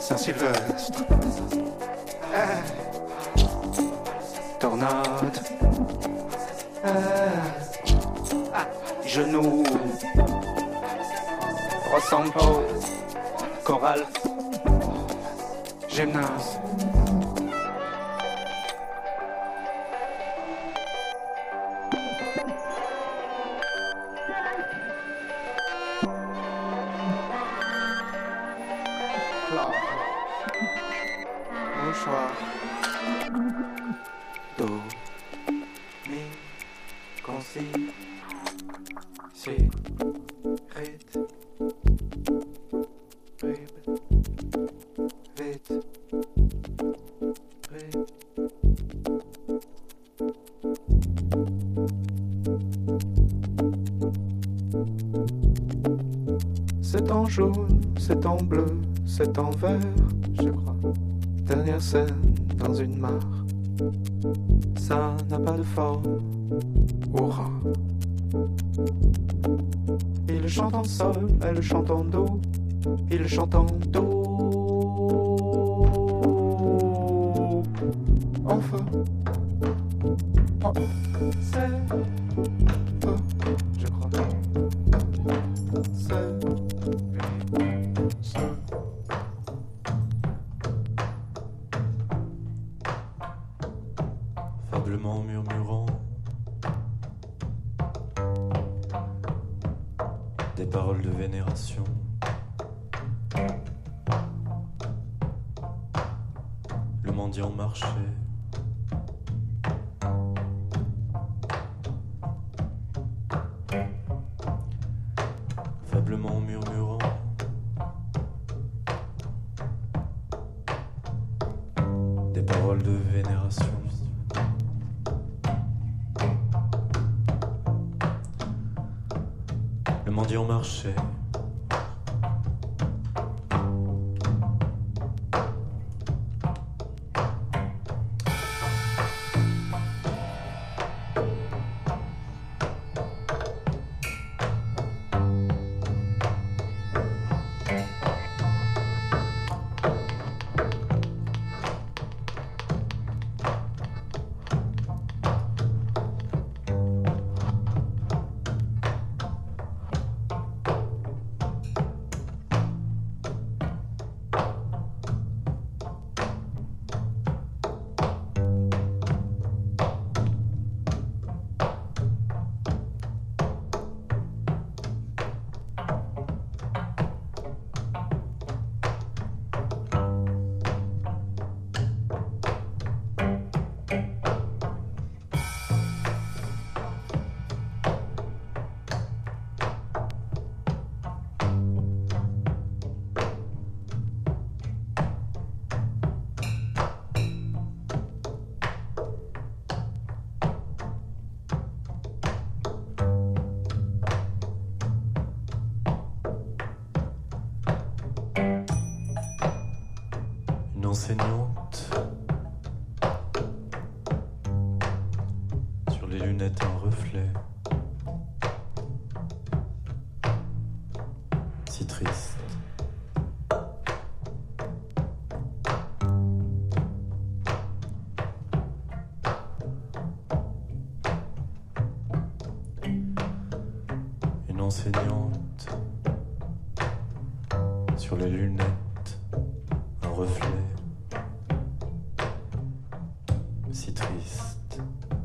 Saint-Sylvestre. Tornade. Genoux. Ressemble pas. Chorale. Gymnase. Mouchoir. Do. Mi. Consi. Si. Rite. Rib. Vite. Rib. C'est en jaune, c'est en bleu, c'est en vert, je crois. Dernière scène dans une mare. Ça n'a pas de forme. Hurrah. Il chante en sol, elle chante en do. Il chante en do. Enfin. Oh. C'est peu, je crois. C'est seul. Faiblement murmurant des paroles de vénération. Le mendiant marchait. Faiblement murmurant des paroles de vénération. Le mendiant marchait. Enseignante sur les lunettes un reflet si triste. Une enseignante sur les lunettes un reflet si triste.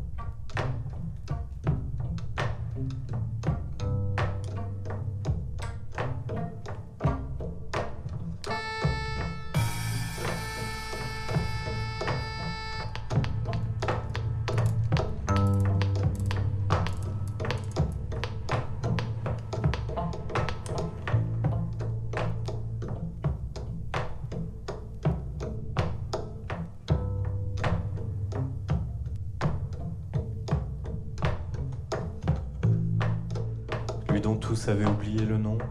Lui dont tous avaient oublié le nom.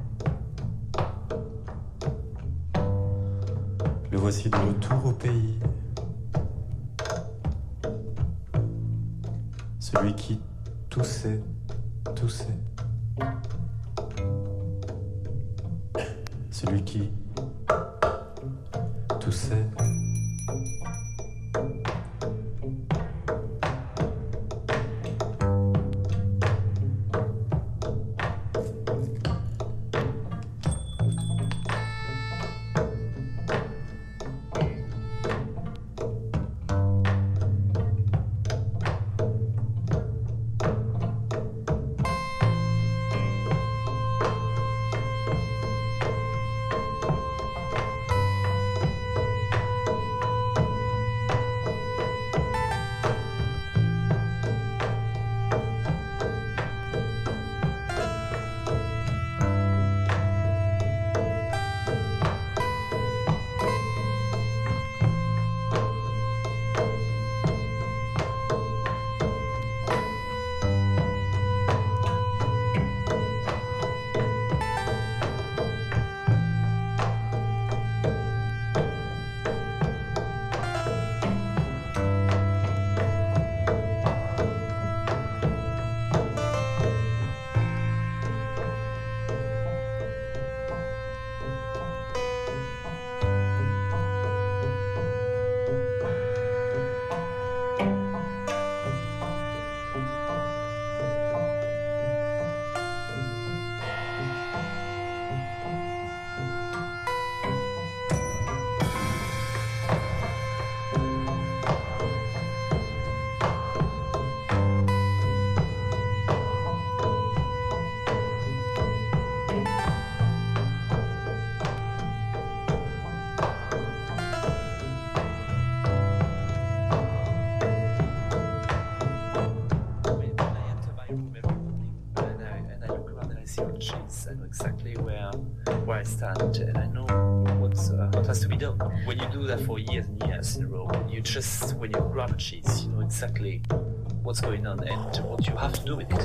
Le voici de retour au pays. Celui qui toussait, toussait. Celui qui toussait. Exactly where I stand, and I know what has to be done. When you do that for years and years in a row, when you grab a cheese, you know exactly what's going on and what you have to do with it.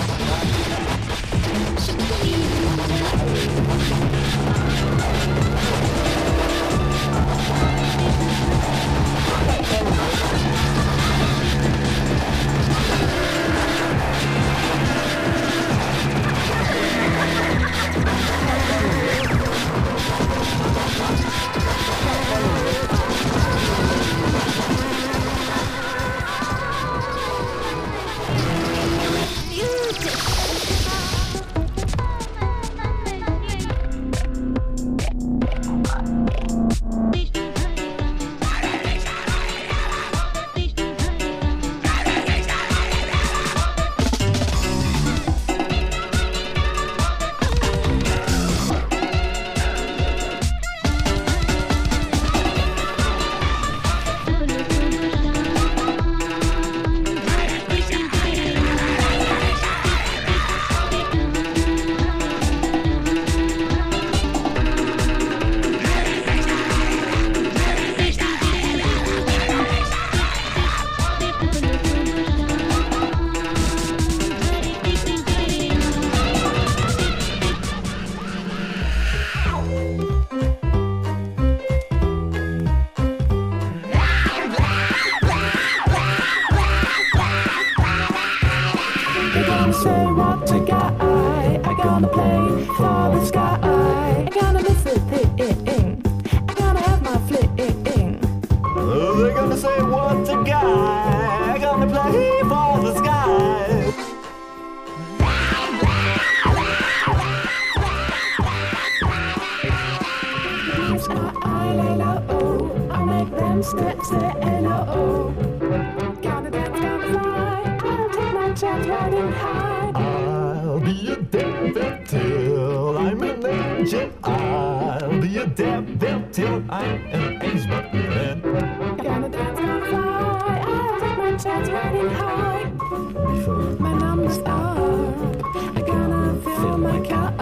gonna say what to guy. I'm gonna play for the sky. I'm gonna miss a thing. I'm gonna have my fling. They're gonna say what a guy. I'm gonna play for the sky. I lay low. I make them say hello. Gonna dance, gonna fly. I'll take my chance riding high. I'll be a devil till I'm an angel. I'll be a devil till I'm an angel. Gonna dance, gonna fly. I'll take my chance riding high. Before My numbers up. I'm gonna fill my cup.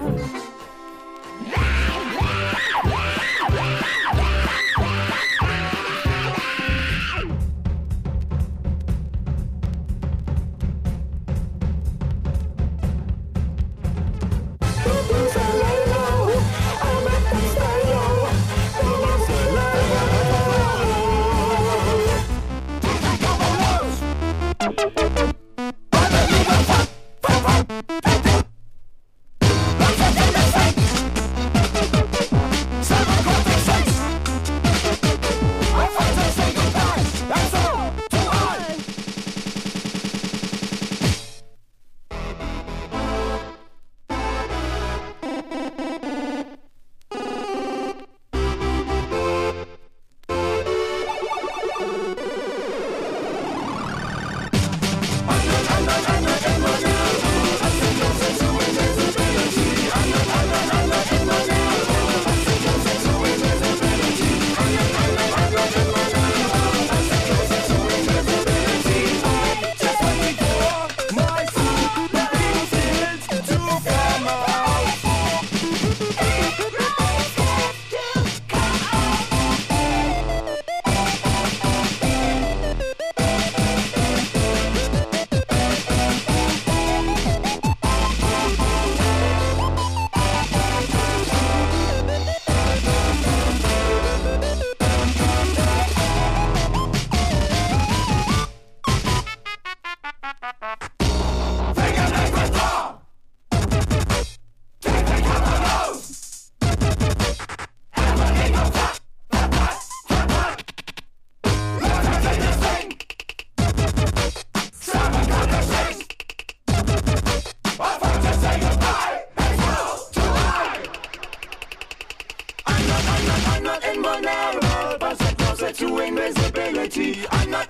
to invisibility. I'm not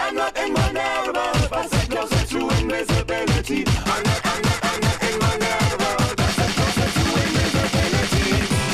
invulnerable, but so closer to invisibility. I'm not invulnerable, but so closer to invisibility.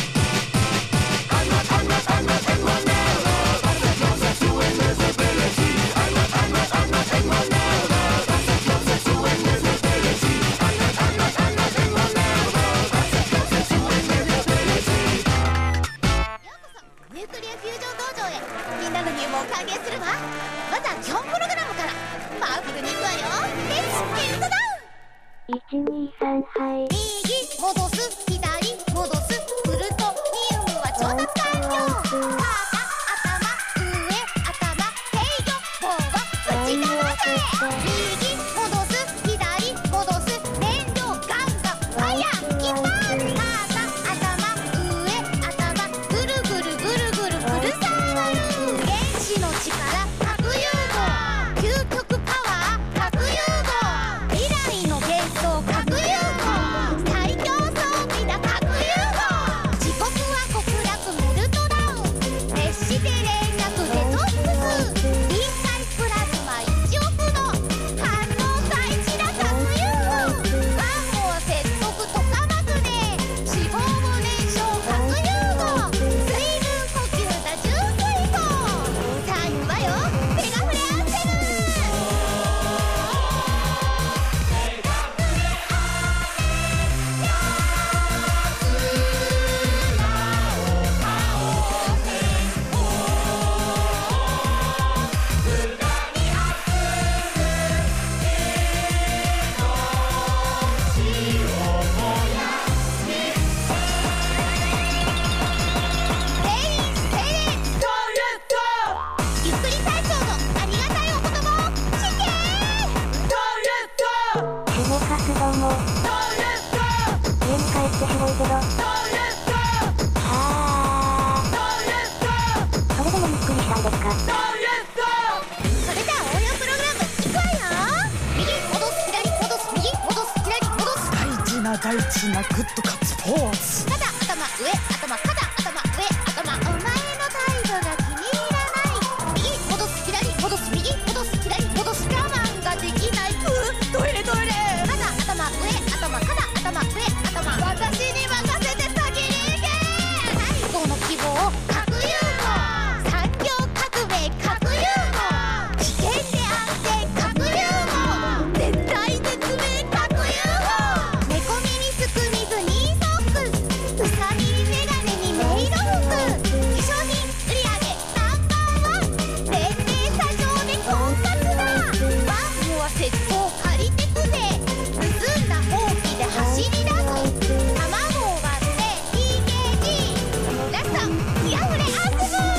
I'm not invulnerable, but so closer to invisibility. I'm not invulnerable, but so closer to invisibility. I'm not invulnerable, but so closer to invisibility. ニュークリアフュージョン道場へみんなの入門を歓迎するわ。まずは基本プログラムからパワフルにいくわよ。レッツゲットダウン。 123はい右戻す左戻すフルトニウムは調達完了。肩頭上頭制御棒は内側へ。右戻す左戻す燃料ガンガンファイヤーキッパー。肩頭上頭ぐるぐるぐるぐるフルサーバル。原子の力核融合究極パワー核融合未来の幻想核融合最強装備だ核融合。時刻は極楽メルトダウン熱して冷却デトックス臨界プラズマ1億度反大事なグッドカツポーズ。 肩頭上頭肩頭上頭。お前の態度が気に入らない。右戻す左戻す右戻す左戻す。我慢ができない。 トイレトイレ。 肩頭上頭肩頭上頭。私に任せて先に行け。最後の希望核融合。産業革命核融合。危険で安全核融合。絶対絶命核融合。猫耳すくみずにソックス。うさぎメガネにメイド服。化粧品売り上げナンバーワン。連盟作業で婚活だ。ワンモア窃盗借りてくぜ。盗んだほうきで走り出す。卵を割って TKG。 ラスト気あふれアップブー。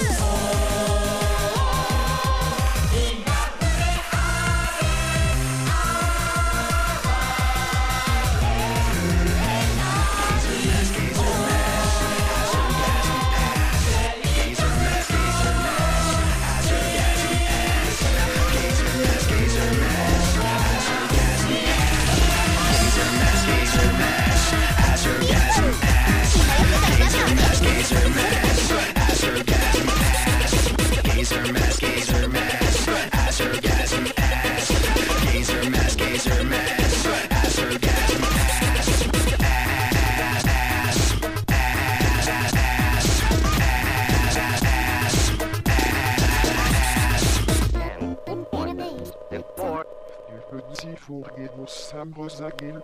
Sie vorgeht, muss Sambos agil.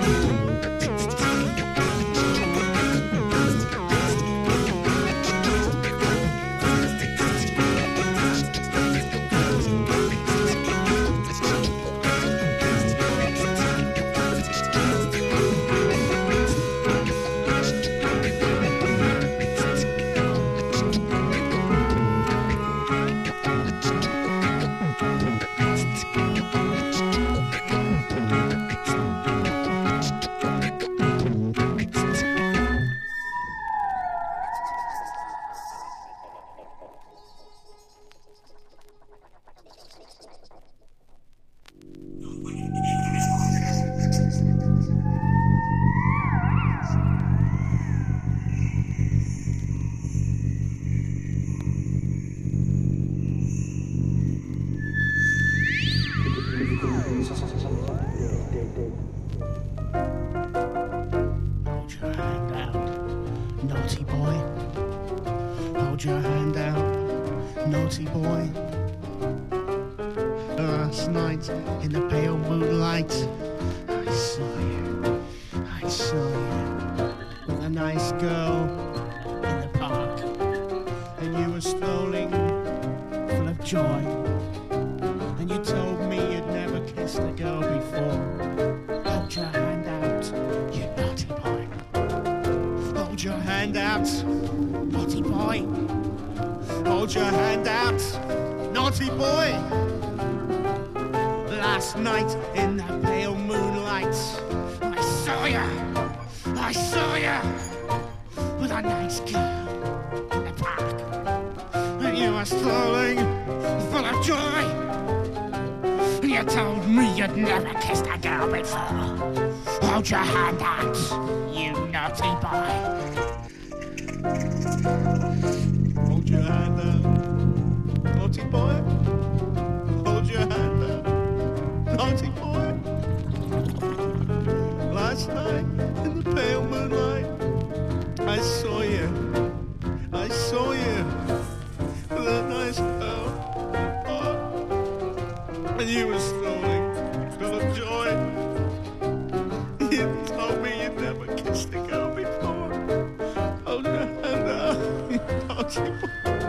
Hold your hand out, naughty boy. Hold your hand out, naughty boy. Last night in the pale moonlight, I saw you. I saw you with a nice girl in the park, and you were strolling full of joy. And you told me you'd never kissed a girl before. Hold your hand out, you naughty boy. Hold your hand out, naughty boy. Hold your hand out, naughty boy. Last night in the pale moonlight, I saw you. I saw you with a nice girl in the park, and you were strolling full of joy. You told me you'd never kissed a girl before. Hold your hand out, you naughty boy. Hold your hand out, naughty boy. Hold your hand out, naughty boy. Last night in the pale moonlight, I saw you. I saw you with a nice girl. And you were strolling full of joy. You told me you'd never kissed a girl before. Hold your hand out, naughty boy.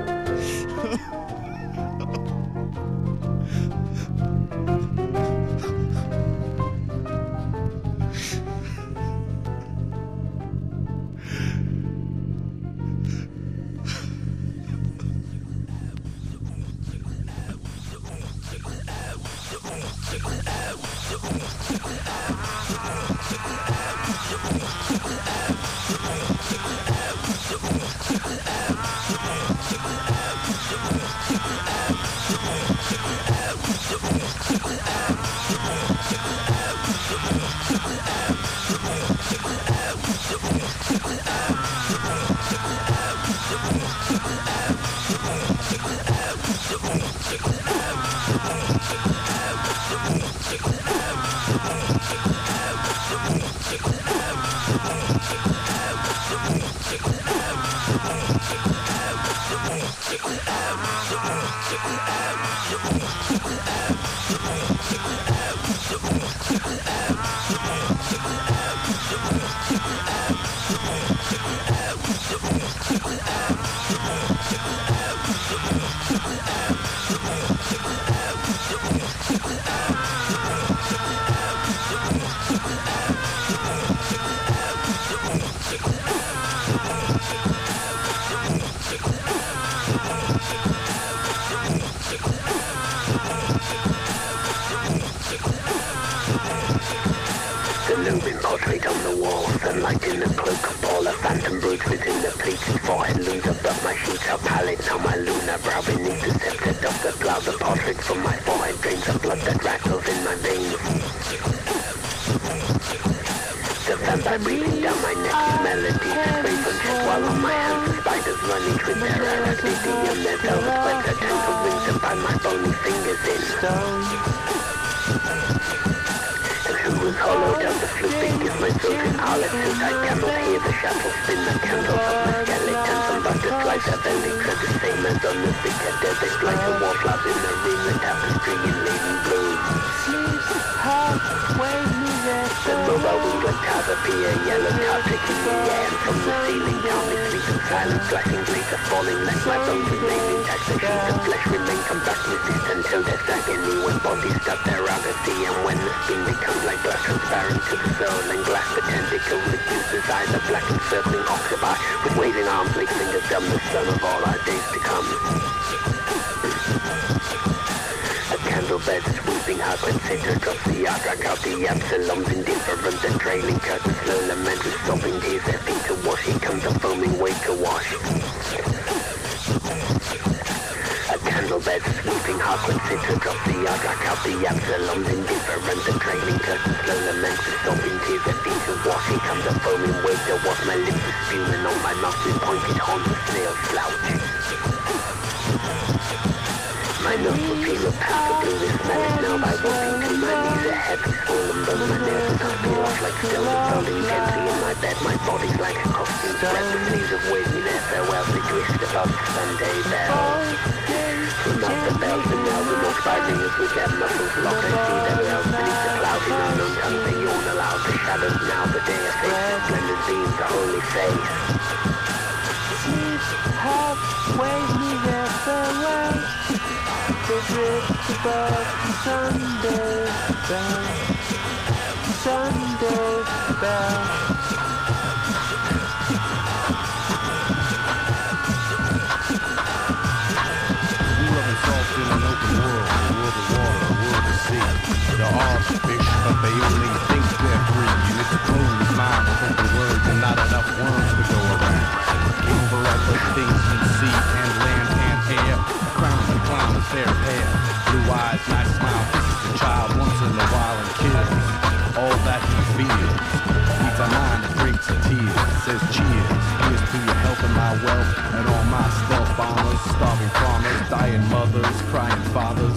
The looming portrait on the wall, sunlight in the cloak of Paul, a phantom broods within the pleated forehead looms above my sheets are pallid. Now my lunar brow beneath the scepter of the plough, the portrait from my forehead drains the blood that rattles in my veins. The vampire breathing down my neck, melodies craven, while on my hands the spiders running with terror as lydium, their velvet webs are tangled wings and bind my bony fingers in. Who was hollowed out the flipping is my silken outlet, since I cannot hear the shuttle spin the candles of my skeletons and butterflies have elyx are the same as on the thicker desert like the wallflowers in the ring, the tapestry in laden bloom. The mobile wings blood clouds appear, yellow clouds taking the air. And from the ceiling, calmly sleep in silence, flashing blades are falling. Let my bones remain intact, the sheet of flesh remain combat resist until death's agony. When bodies stop their apathy, and when the skin becomes like glass transparent to the soul, and glass the tentacles reduces eyes of black encircling octopi, with waving arms like fingers dumb, the sun of all our days to come. A candle bed sweeping hard when Satan drops the yard, drag out the Absalom's indifferent and trailing curtains, slow lament with sobbing tears, their feet to wash, here comes a foaming wave to wash. A candle bed sweeping hard when Satan drops the yard, drag out the Absalom's indifferent and trailing curtains, slow lament with sobbing tears, their feet to wash, here comes a foaming wave to wash. My lips are spewing on my mouth with pointed horns of snail slouch. My nostrils feel a path of blue, this smell now by walking to my knees. A heavy swollen bone, my nails are feel off like stones, falling gently in my bed. My body's like a costume, spread the sleeves of wave me their farewells. They twist above the Sunday bells. From out the bells and now the most by ringers with their muscles locked. I see their bells beneath the clouds in unknown tongues. They yawn aloud, the shadows now, the day of faith, the splendid beams, the holy face. Sleep, have, wave me their farewells. They drift above Sunday bells, Sunday bells. We love and salt in an open world, a world of water, a world of sea. There are fish, but they only think they're free. And it's a closed mind with open words and not enough worms to go around. Over at the things you see and land and air. Crown and clown and fair hair, blue eyes, nice smile, kisses a child once in a while and kills all that he feels. Needs a mind that drinks a tear, says cheers. Here's to your health and my wealth and all my stealth bombers, starving farmers, dying mothers, crying fathers.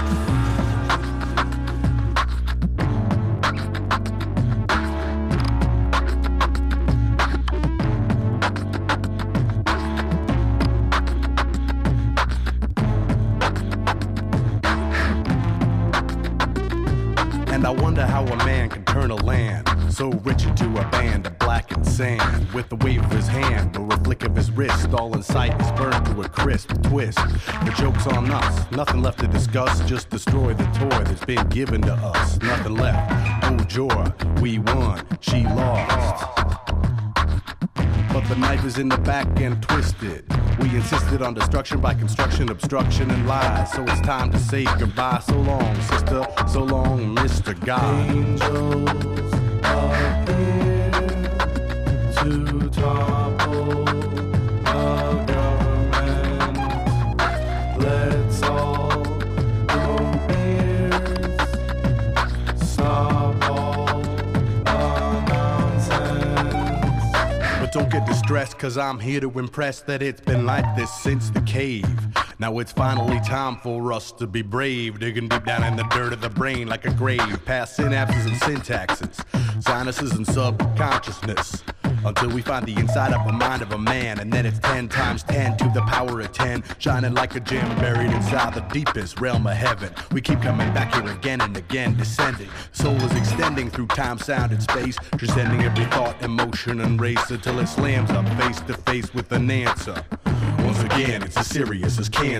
And I wonder how a man can turn a land so rich into a band of blackened sand. With the wave of his hand or a flick of his wrist, all in sight is burned to a crisp twist. The joke's on us, nothing left to discuss, just destroy the toy that's been given to us. Nothing left, oh joy, we won, she lost. But the knife is in the back and twisted. We insisted on destruction by construction, obstruction, and lies. So it's time to say goodbye. So long, sister. So long, Mr. God. Angels appear to topple a government. Let's all go ears. Stop all the nonsense. But don't get distressed, cause I'm here to impress that it's been like this since the cave. Now it's finally time for us to be brave, digging deep down in the dirt of the brain like a grave, past synapses and syntaxes, sinuses and subconsciousness, until we find the inside of a mind of a man. And then it's 10 times 10 to the power of 10, shining like a gem buried inside the deepest realm of heaven. We keep coming back here again and again, descending. Soul is extending through time, sound, and space, transcending every thought, emotion, and race, until it slams up face to face with an answer. Once again, it's as serious as cancer.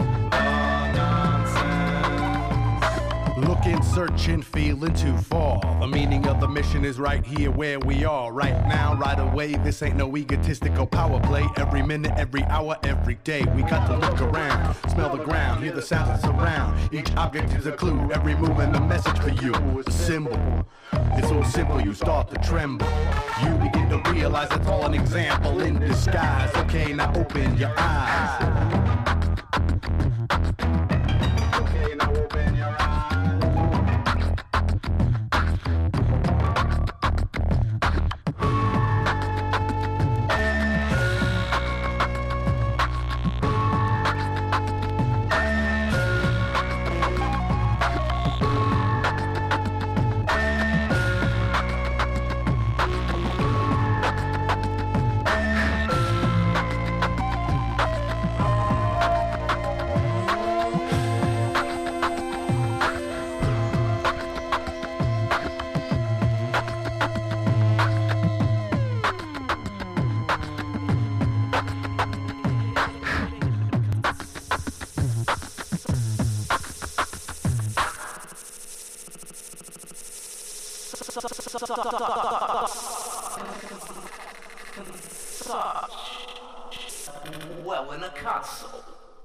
Searching, feeling to fall. The meaning of the mission is right here where we are, right now, right away. This ain't no egotistical power play. Every minute, every hour, every day. We got to look around, smell the ground, hear the sounds that surround. Each object is a clue, every movement a message for you. A symbol. It's so simple, you start to tremble. You begin to realize it's all an example in disguise. Okay, now open your eyes. Okay, now open your eyes. Well, in a console.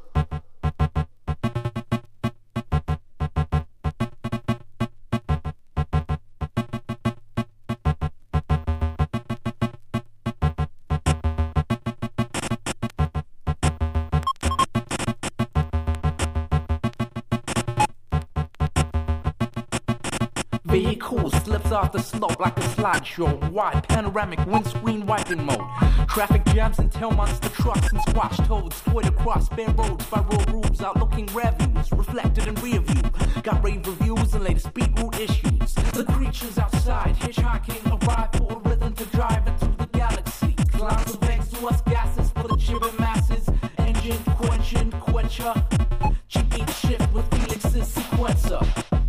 Vehicle slips off the slope like a slideshow. Wide panoramic windscreen wiping mode. Traffic jams and tail monster trucks and squash toads toyed across bare roads by road rules. Outlooking reviews reflected in rear view. Got rave reviews and latest beetroot issues. The creatures outside hitchhiking arrive for a rhythm to drive into the galaxy. Clouds of exhaust gases for the chibbing masses. Engine quencher. Cheap each shift with Felix's sequencer.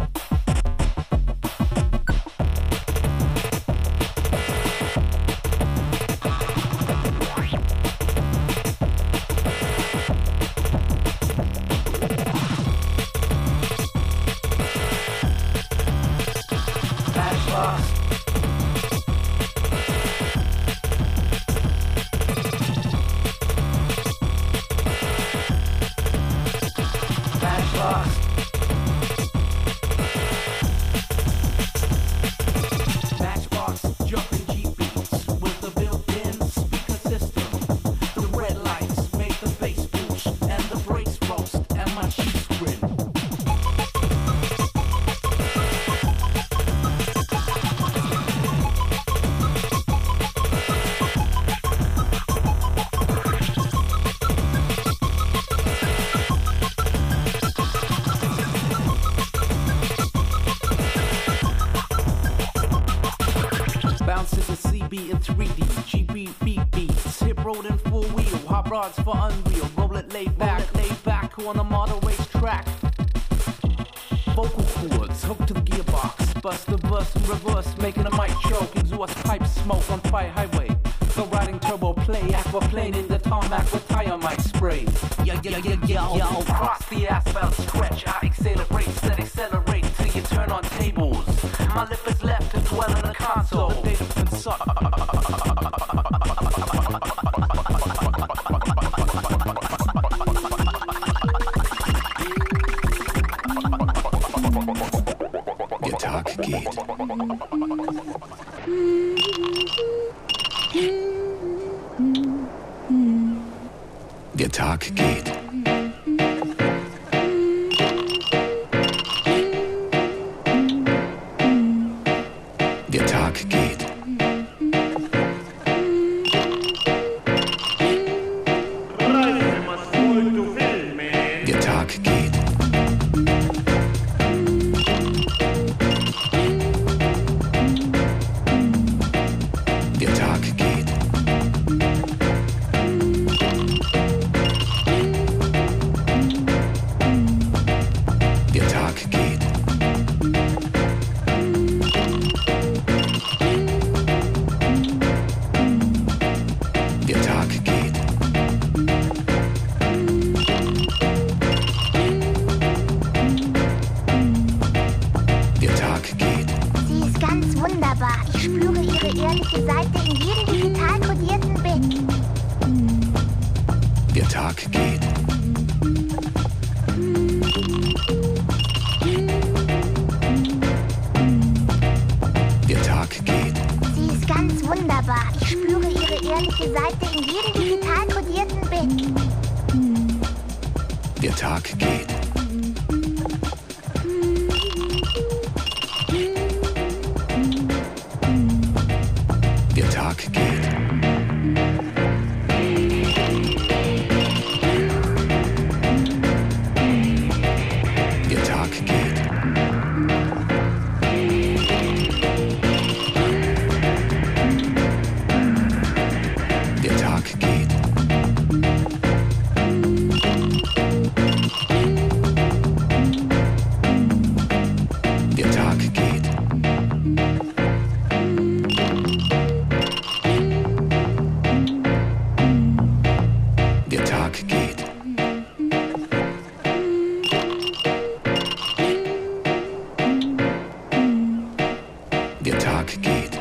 in 3D, GB beat beats, hip road and four wheel, hot rods for Unreal, roll it laid back on a model race track. Vocal cords hooked to the gearbox, bust the verse in reverse, making a mic choke, exhaust pipe smoke on fire highway. So riding turbo play, aquaplaning the tarmac with tire mic spray. Yo, cross the asphalt stretch, I accelerate, set accelerate till you turn on tables. My lip is left to dwell in the console. The data consult. Guitar Gate. Guitar Gate. Guitar Gate. Guitar Gate. Guitar Gate. Tag geht. Der Tag geht. Sie ist ganz wunderbar. Ich spüre ihre ehrliche Seite in jedem digital kodierten Bit. Der Tag geht. Der Tag geht. Der Tag geht. Der Tag geht. Der Tag geht. Der Tag geht. Der Tag geht.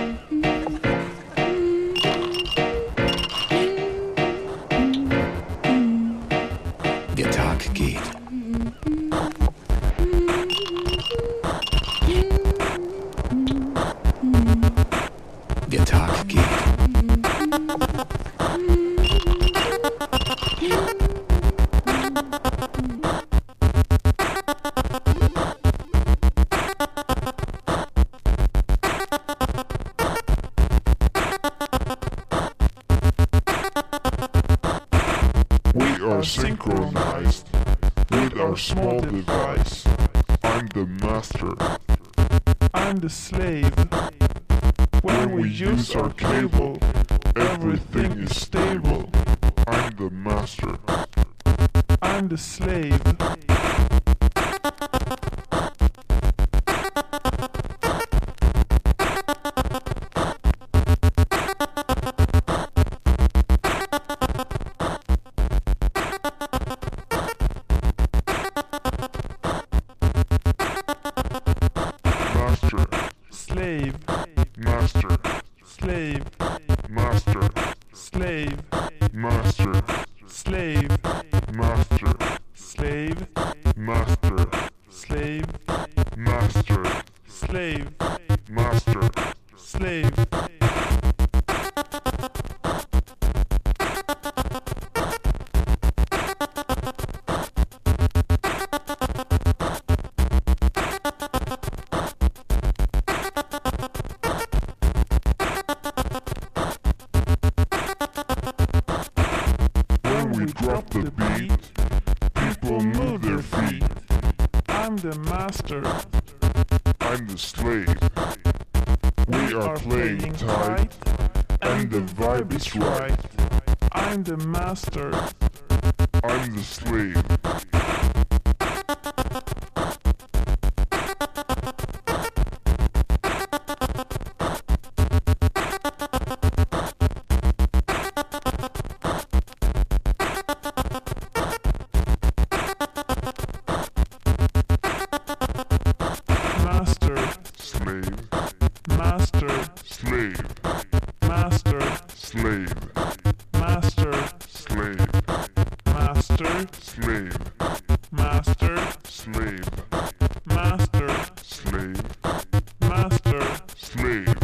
Der Tag geht. Der Tag geht. We are synchronized with our small device. I'm the master. I'm the slave. When we use our cable, everything is stable. I'm the master. I'm the slave. Master. Slave. Master. Slave. Master. Slave. Master. Slave. Master. Slave. Master. Slave. Master. Slave. Master. Slave. When we drop the beat, people move their feet. I'm the master. I'm the slave. We are playing tight, and the vibe is right. I'm the master. I'm the slave. Master. Slave. Master. Slave. Master. Slave. Master. Slave. Master. Slave. Master. Slave. Master. Slave. Master. Slave.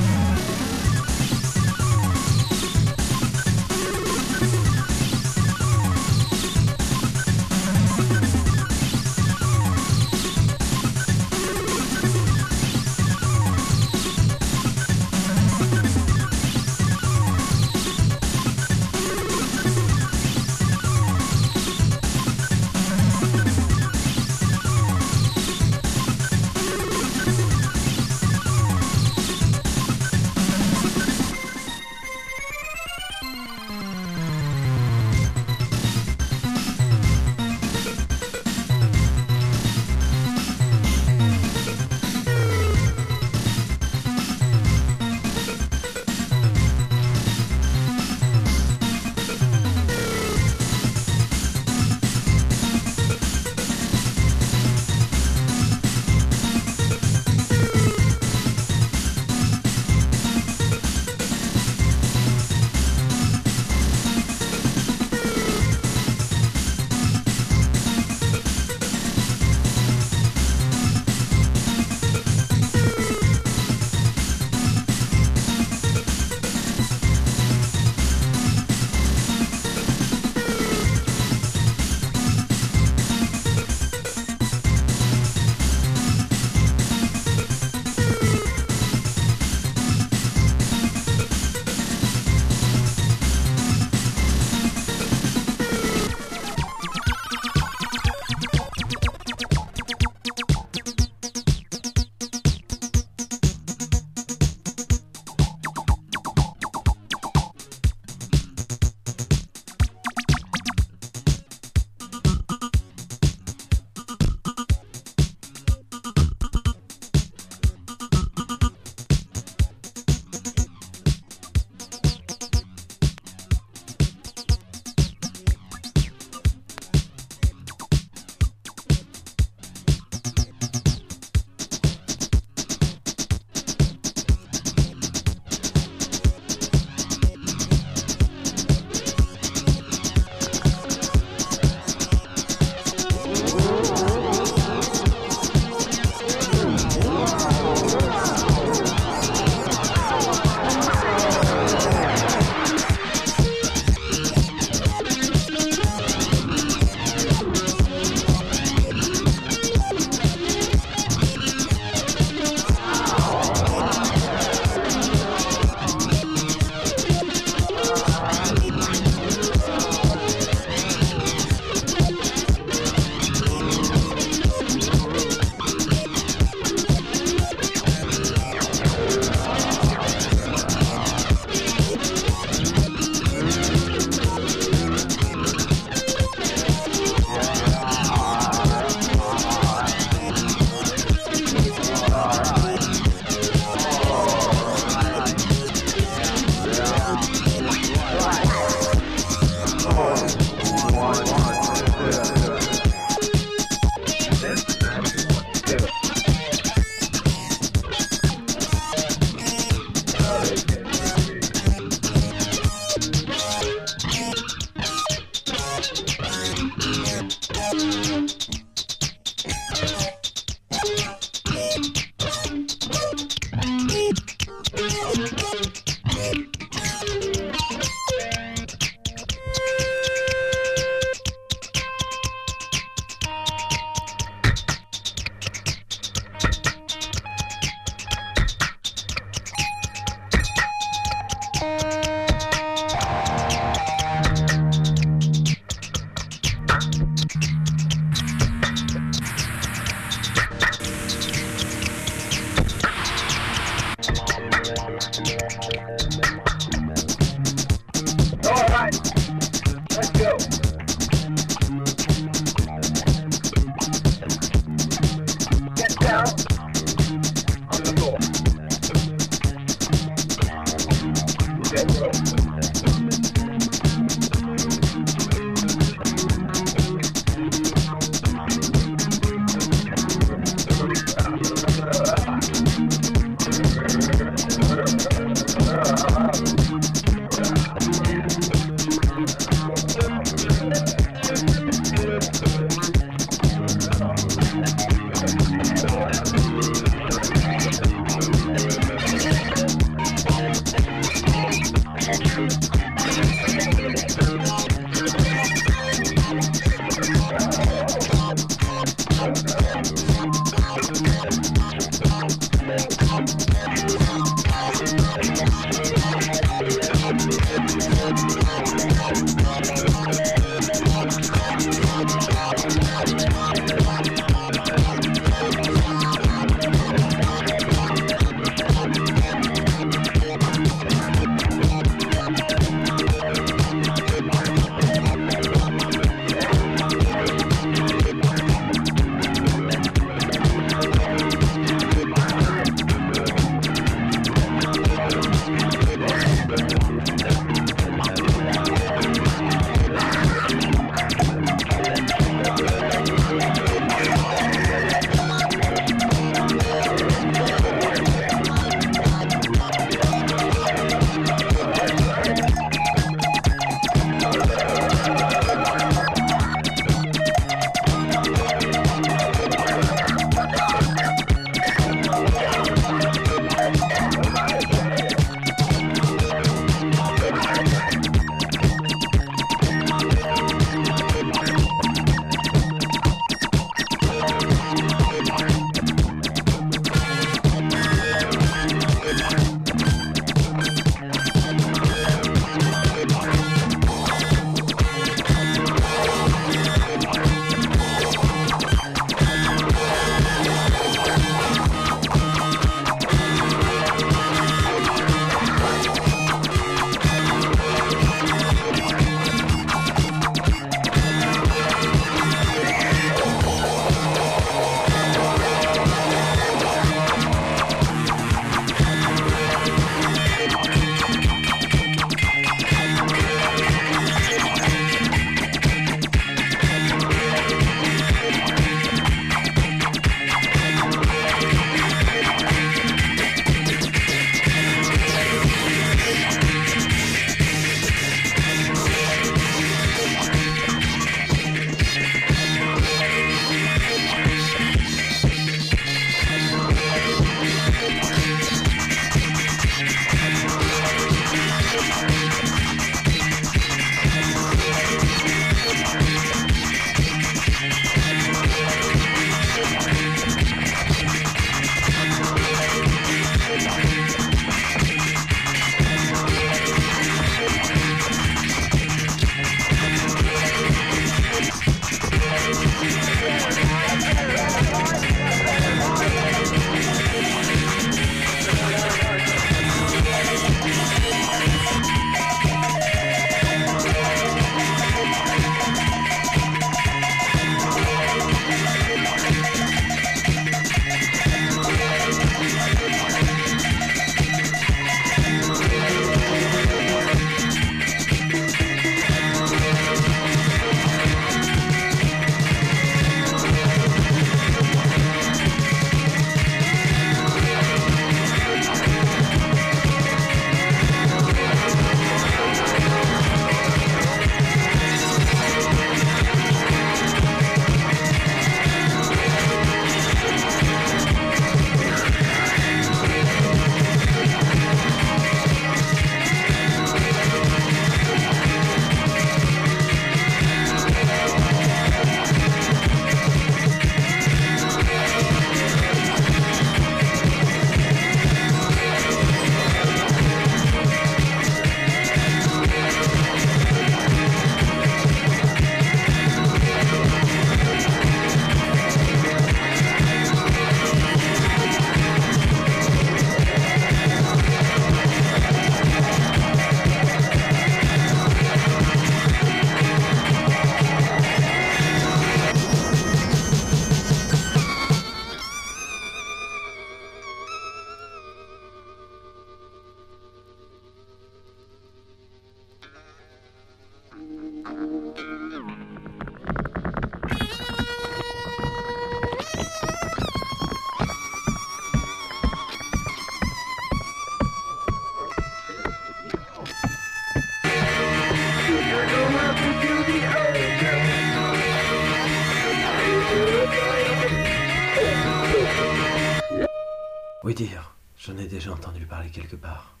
Oui dire, j'en ai déjà entendu parler quelque part.